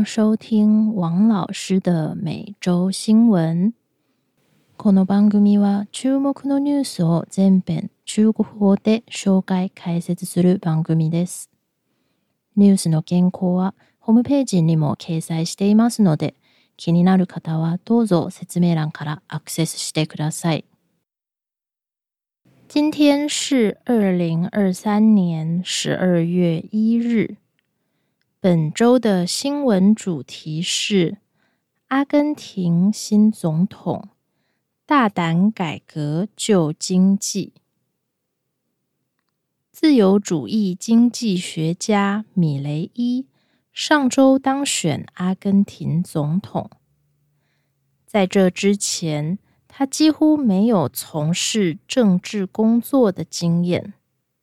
迎收听王老师的每周新闻。この番組は注目のニュースを全編中国語で紹介解説する番組です。ニュースの原稿はホームページにも掲載していますので、気になる方はどうぞ説明欄からアクセスしてください。今天是2023年12月1日。本周的新闻主题是阿根廷新总统大胆改革救经济。自由主义经济学家米雷伊上周当选阿根廷总统。在这之前，他几乎没有从事政治工作的经验。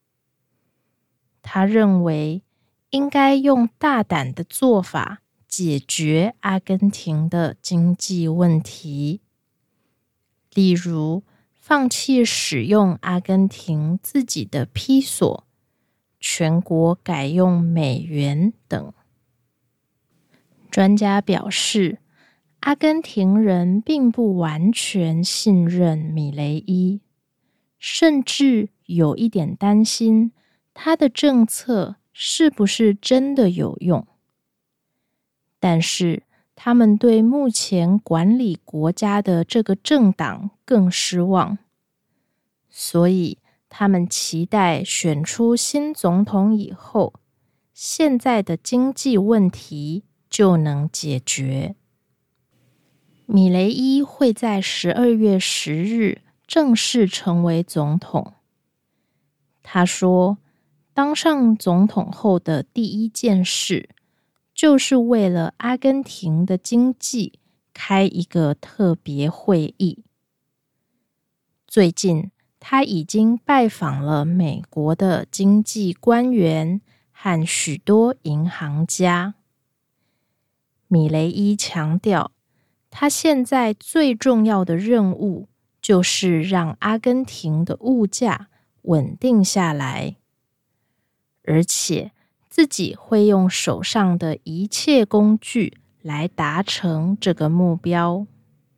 他认为应该用大胆的做法解决阿根廷的经济问题，例如放弃使用阿根廷自己的披索，全国改用美元等。专家表示，阿根廷人并不完全信任米雷伊，甚至有一点担心他的政策是不是真的有用？但是他们对目前管理国家的这个政党更失望，所以他们期待选出新总统以后，现在的经济问题就能解决。米雷伊会在12月10日正式成为总统。他说，当上总统后的第一件事，就是为了阿根廷的经济开一个特别会议。最近，他已经拜访了美国的经济官员和许多银行家。米雷伊强调，他现在最重要的任务就是让阿根廷的物价稳定下来。而且自己会用手上的一切工具来达成这个目标。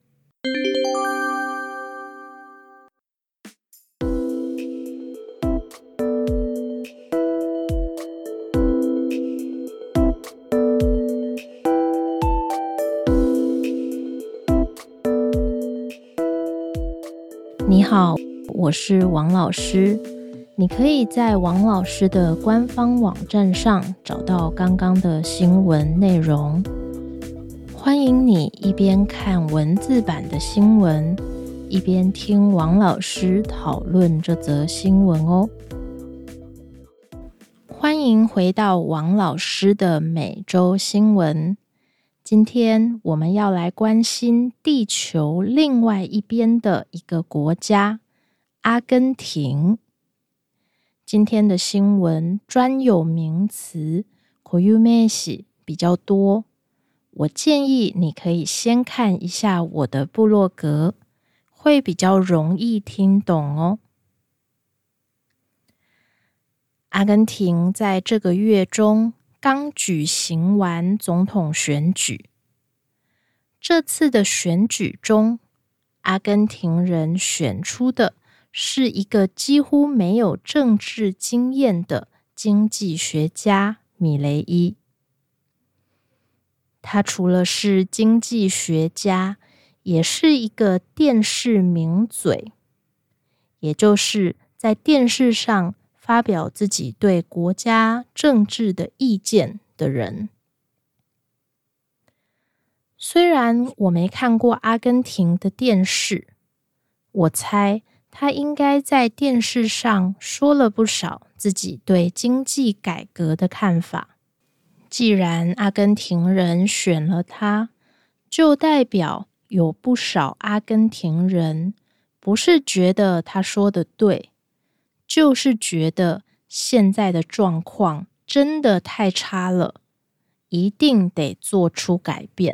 你好，我是王老师。你可以在王老师的官方网站上找到刚刚的新闻内容。欢迎你一边看文字版的新闻，一边听王老师讨论这则新闻哦。欢迎回到王老师的每周新闻。今天我们要来关心地球另外一边的一个国家——阿根廷。今天的新闻专有名词 koyumeshi 比较多，我建议你可以先看一下我的部落格，会比较容易听懂哦。阿根廷在这个月中刚举行完总统选举。这次的选举中，阿根廷人选出的是一个几乎没有政治经验的经济学家米雷伊。他除了是经济学家，也是一个电视名嘴，也就是在电视上发表自己对国家政治的意见的人。虽然我没看过阿根廷的电视，我猜他应该在电视上说了不少自己对经济改革的看法。既然阿根廷人选了他，就代表有不少阿根廷人不是觉得他说的对，就是觉得现在的状况真的太差了，一定得做出改变。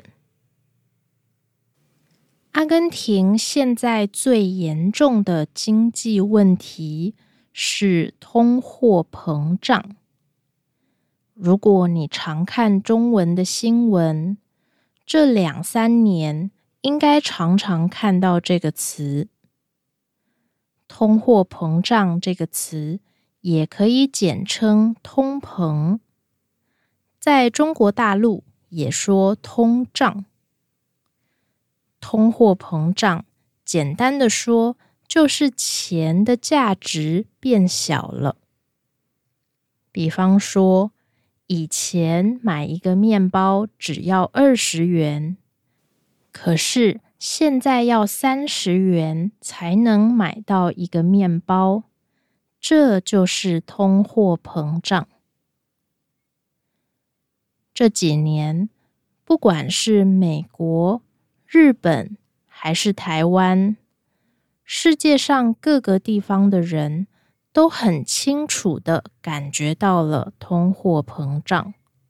阿根廷现在最严重的经济问题是通货膨胀。 如果你常看中文的新闻，这2-3年应该常常看到这个词。通货膨胀这个词也可以简称通膨，在中国大陆也说通胀。通货膨胀简单的说，就是钱的价值变小了。比方说，以前买一个面包只要20元，可是现在要30元才能买到一个面包，这就是通货膨胀。这几年，不管是美国、日本还是台湾，世界上各个地方的人都很清楚地感觉到了通货膨胀。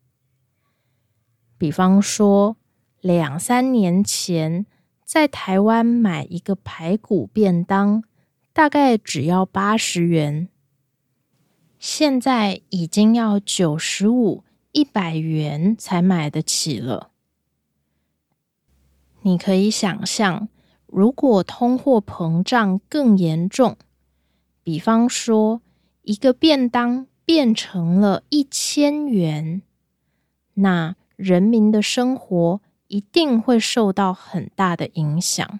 比方说，2-3年前，在台湾买一个排骨便当，大概只要80元，现在已经要95、100元才买得起了。你可以想象，如果通货膨胀更严重，比方说一个便当变成了1000元，那人民的生活一定会受到很大的影响。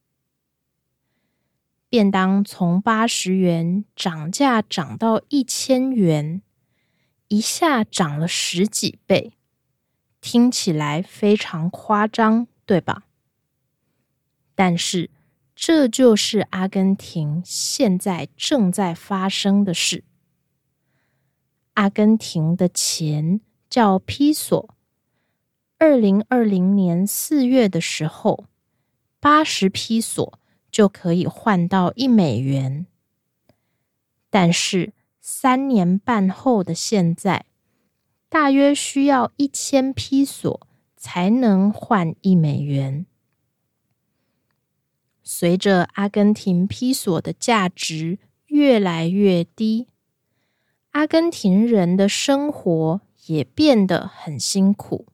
便当从80元涨价涨到1000元，一下涨了10几倍，听起来非常夸张，对吧？但是这就是阿根廷现在正在发生的事。阿根廷的钱叫披索，2020年4月的时候，80披索就可以换到1美元。但是3年半后的现在，大约需要1000披索才能换1美元。随着阿根廷披索的价值越来越低，阿根廷人的生活也变得很辛苦。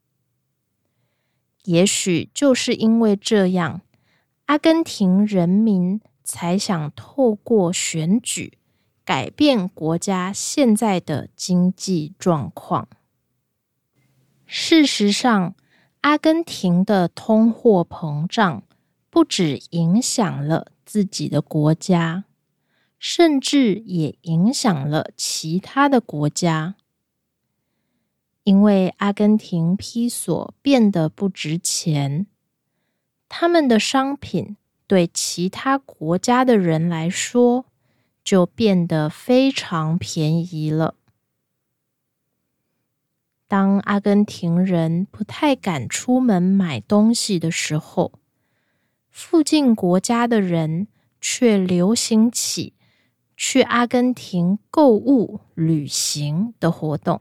也许就是因为这样，阿根廷人民才想透过选举改变国家现在的经济状况。事实上，阿根廷的通货膨胀不只影响了自己的国家，甚至也影响了其他的国家。因为阿根廷披索变得不值钱，他们的商品对其他国家的人来说就变得非常便宜了。当阿根廷人不太敢出门买东西的时候，附近国家的人却流行起去阿根廷购物、旅行的活动。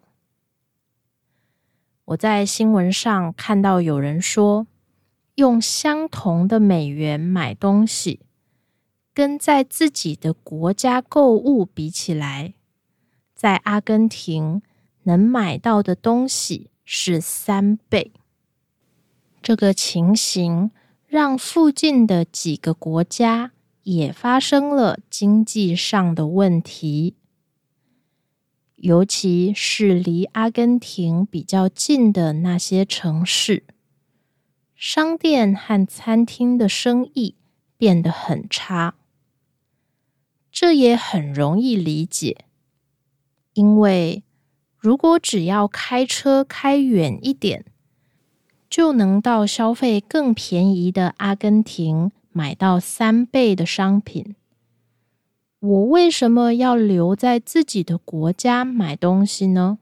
我在新闻上看到有人说，用相同的美元买东西，跟在自己的国家购物比起来，在阿根廷能买到的东西是3倍。这个情形让附近的几个国家也发生了经济上的问题，尤其是离阿根廷比较近的那些城市，商店和餐厅的生意变得很差。这也很容易理解，因为如果只要开车开远一点，就能到消费更便宜的阿根廷买到3倍的商品。我为什么要留在自己的国家买东西呢？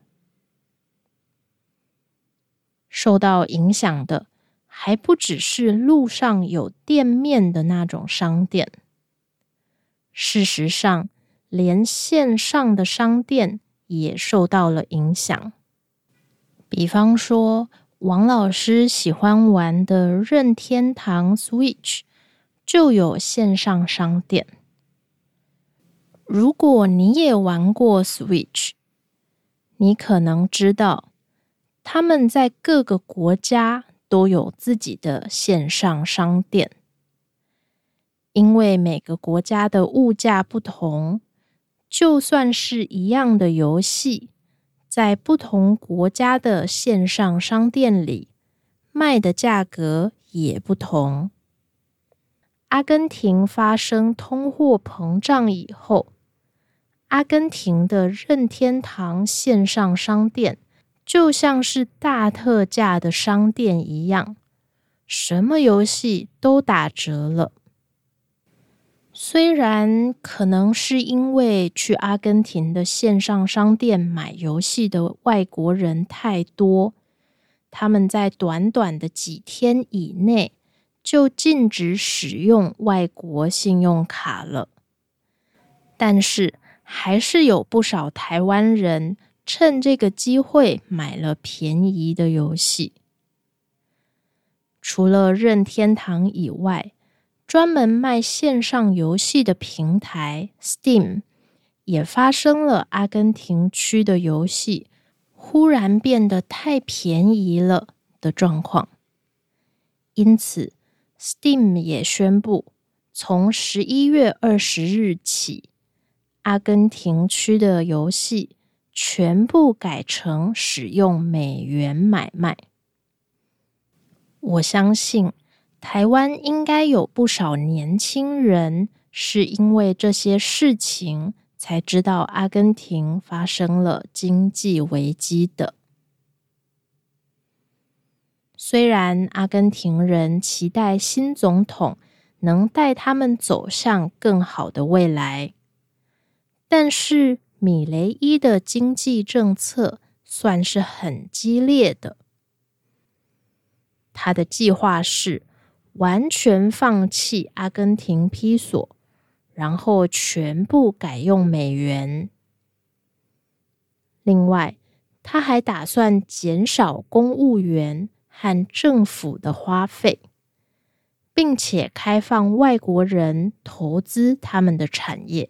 受到影响的还不只是路上有店面的那种商店，事实上，连线上的商店也受到了影响。比方说，王老师喜欢玩的任天堂 Switch 就有线上商店。如果你也玩过 Switch， 你可能知道，他们在各个国家都有自己的线上商店。因为每个国家的物价不同，就算是一样的游戏，在不同国家的线上商店里，卖的价格也不同。阿根廷发生通货膨胀以后，阿根廷的任天堂线上商店就像是大特价的商店一样，什么游戏都打折了。虽然可能是因为去阿根廷的线上商店买游戏的外国人太多，他们在短短的几天以内就禁止使用外国信用卡了，但是还是有不少台湾人趁这个机会买了便宜的游戏。除了任天堂以外，专门卖线上游戏的平台 Steam 也发生了阿根廷区的游戏忽然变得太便宜了的状况。因此 Steam 也宣布，从11月20日起，阿根廷区的游戏全部改成使用美元买卖。我相信台湾应该有不少年轻人是因为这些事情才知道阿根廷发生了经济危机的。虽然阿根廷人期待新总统能带他们走向更好的未来，但是米雷伊的经济政策算是很激烈的。他的计划是完全放弃阿根廷披索，然后全部改用美元。另外，他还打算减少公务员和政府的花费，并且开放外国人投资他们的产业。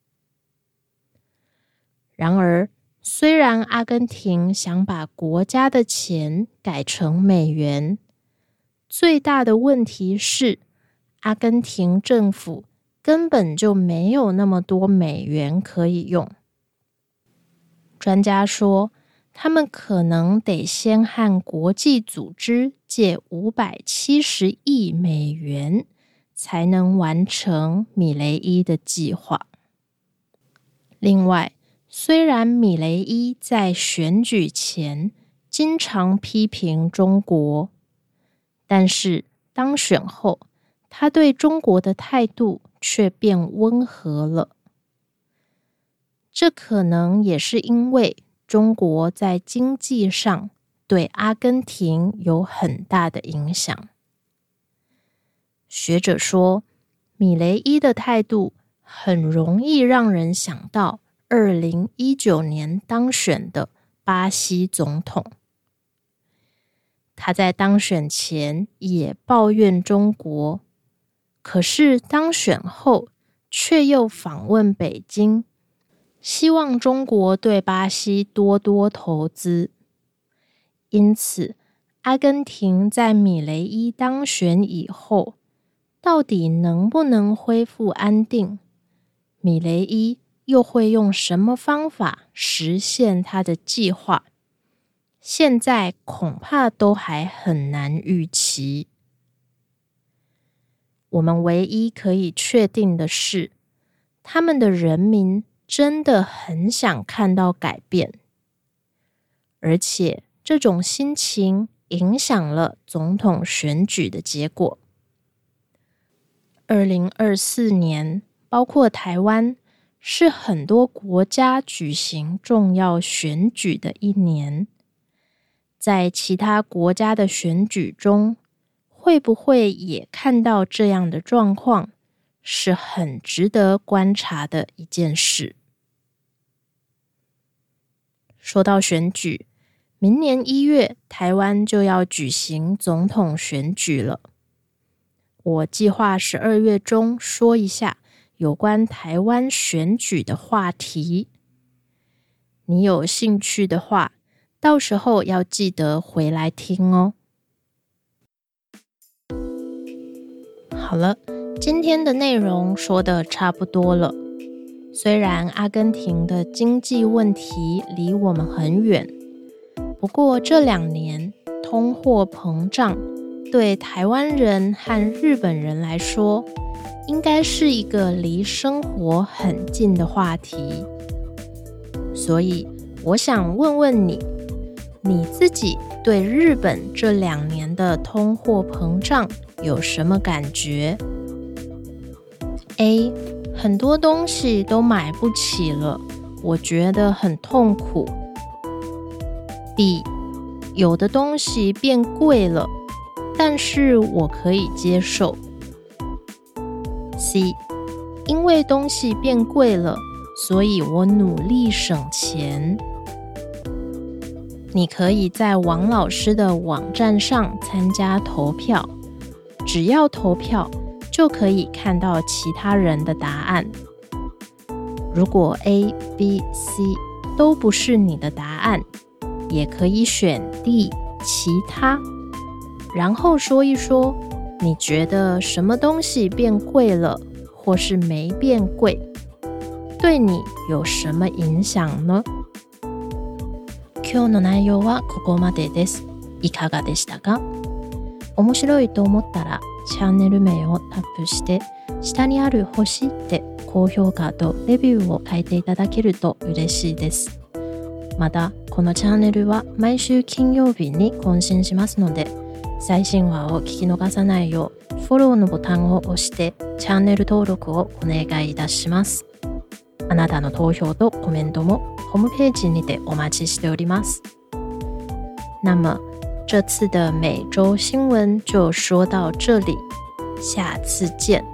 然而，虽然阿根廷想把国家的钱改成美元，最大的问题是，阿根廷政府根本就没有那么多美元可以用。专家说，他们可能得先和国际组织借570亿美元，才能完成米雷伊的计划。另外，虽然米雷伊在选举前经常批评中国，但是当选后，他对中国的态度却变温和了。这可能也是因为中国在经济上对阿根廷有很大的影响。学者说，米雷伊的态度很容易让人想到2019年当选的巴西总统。他在当选前也抱怨中国，可是当选后却又访问北京，希望中国对巴西多多投资。因此，阿根廷在米雷伊当选以后，到底能不能恢复安定？米雷伊又会用什么方法实现他的计划？现在恐怕都还很难预期。我们唯一可以确定的是，他们的人民真的很想看到改变，而且这种心情影响了总统选举的结果。2024年，包括台湾，是很多国家举行重要选举的一年。在其他国家的选举中，会不会也看到这样的状况，是很值得观察的一件事。说到选举，明年1月，台湾就要举行总统选举了。我计划12月中说一下有关台湾选举的话题。 你有兴趣的话，到时候要记得回来听哦。好了，今天的内容说得差不多了。虽然阿根廷的经济问题离我们很远，不过这2年通货膨胀对台湾人和日本人来说，应该是一个离生活很近的话题。所以我想问问你，你自己对日本这2年的通货膨胀有什么感觉？ A. 很多东西都买不起了，我觉得很痛苦。 B. 有的东西变贵了，但是我可以接受。 C. 因为东西变贵了，所以我努力省钱。你可以在王老师的网站上参加投票，只要投票就可以看到其他人的答案。如果 A、B、C 都不是你的答案，也可以选 D 其他，然后说一说你觉得什么东西变贵了，或是没变贵，对你有什么影响呢？今日の内容はここまでです。いかがでしたか？面白いと思ったらチャンネル名をタップして下にある星で高評価とレビューを書いていただけると嬉しいです。またこのチャンネルは毎週金曜日に更新しますので、最新話を聞き逃さないようフォローのボタンを押してチャンネル登録をお願いいたします。あなたの投票とコメントもホームページにてお待ちしております。那么这次的每周新闻就说到这里，下次见。